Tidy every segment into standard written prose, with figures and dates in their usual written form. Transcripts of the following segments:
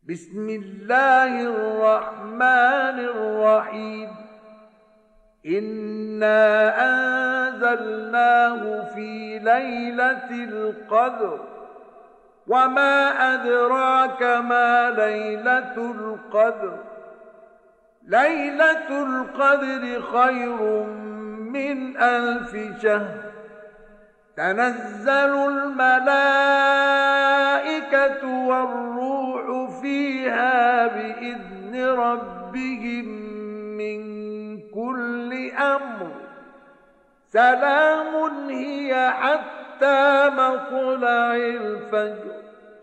بسم الله الرحمن الرحيم إنا أنزلناه في ليلة القدر وما أدراك ما ليلة القدر ليلة القدر خير من ألف شهر تنزل الملائكة والروح فيها بإذن ربهم من كل أمر سلام هي حتى مطلع الفجر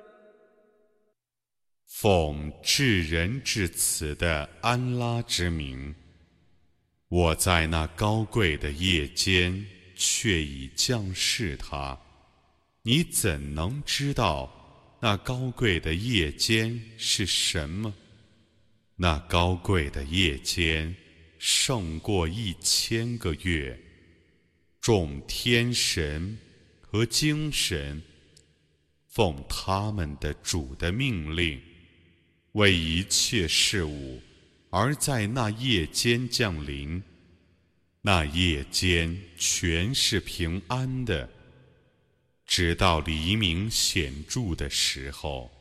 奉至仁至慈的安拉之名，我在那高贵的夜间却已降示它。你怎能知道那高贵的夜间是什么？那高贵的夜间胜过1000个月。众天神和精神奉他们的主的命令，为一切事物而在那夜间降临。那夜间全是平安的，直到黎明显著的时候。